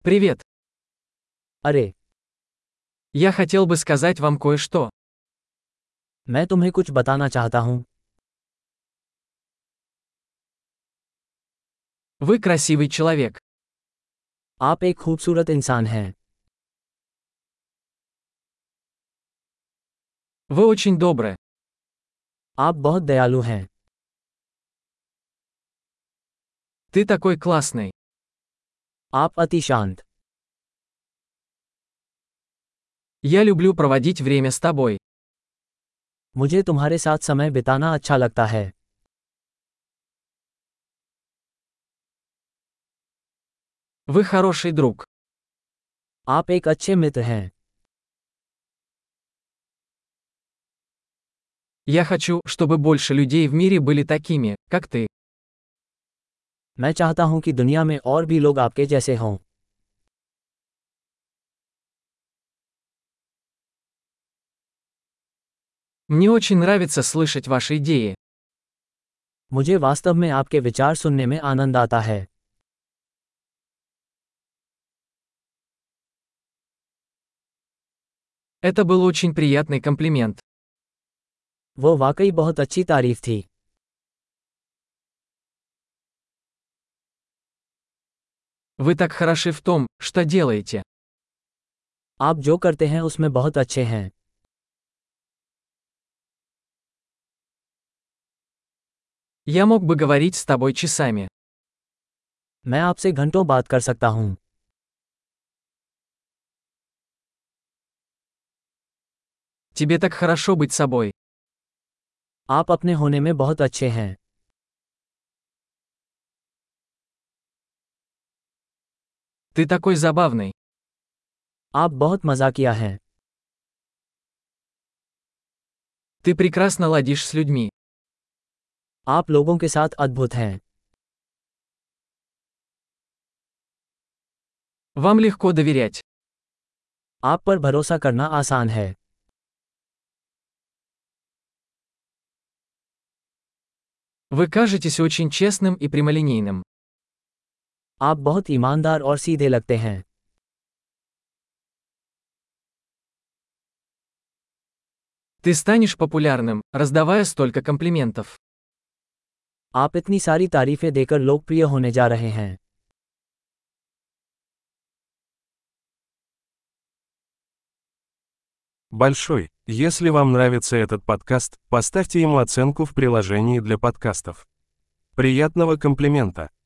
Привет. अरे, Я хотел бы сказать вам кое-что. मैं तुम्हें कुछ बताना चाहता हूँ। Вы красивый человек. आप एक खूबसूरत इंसान हैं। Вы очень добры. आप बहुत दयालु हैं। Ты такой классный. आप अति शांत। Я люблю проводить время с тобой. मुझे तुम्हारे साथ समय बिताना अच्छा लगता है। Вы хороший друг. आप एक अच्छे मित्र हैं। Я хочу, чтобы больше людей в мире были такими, как ты. मैं चाहता हूँ कि दुनिया में और भी लोग आपके जैसे हों। Мне очень нравится слышать ваши идеи. मुझे वास्तव में आपके विचार सुनने में आनंद आता है। Это был очень приятный комплимент. वो वाकई बहुत अच्छी तारीफ थी। Вы так хороши в том, что делаете. आप जो करते हैं उसमें बहुत अच्छे हैं। Я мог бы говорить с тобой часами. मैं आपसे घंटों बात कर सकता हूँ। Тебе так хорошо быть собой. आप अपने होने में बहुत अच्छे हैं। Ты такой забавный. आप बहुत मजाकिया हैं। Ты прекрасно ладишь с людьми. आप लोगों के साथ अद्भुत हैं। Вам легко доверять. आप पर भरोसा करना आसान है। Вы кажетесь очень честным и прямолинейным. आप बहुत ईमानदार और सीधे लगते हैं। Ты станешь популярным, раздавая столько комплиментов. आप इतनी सारी तारीफें देकर लोकप्रिय होने जा रहे हैं। Большой. Если вам нравится этот подкаст, поставьте ему оценку в приложении для подкастов. Приятного комплимента!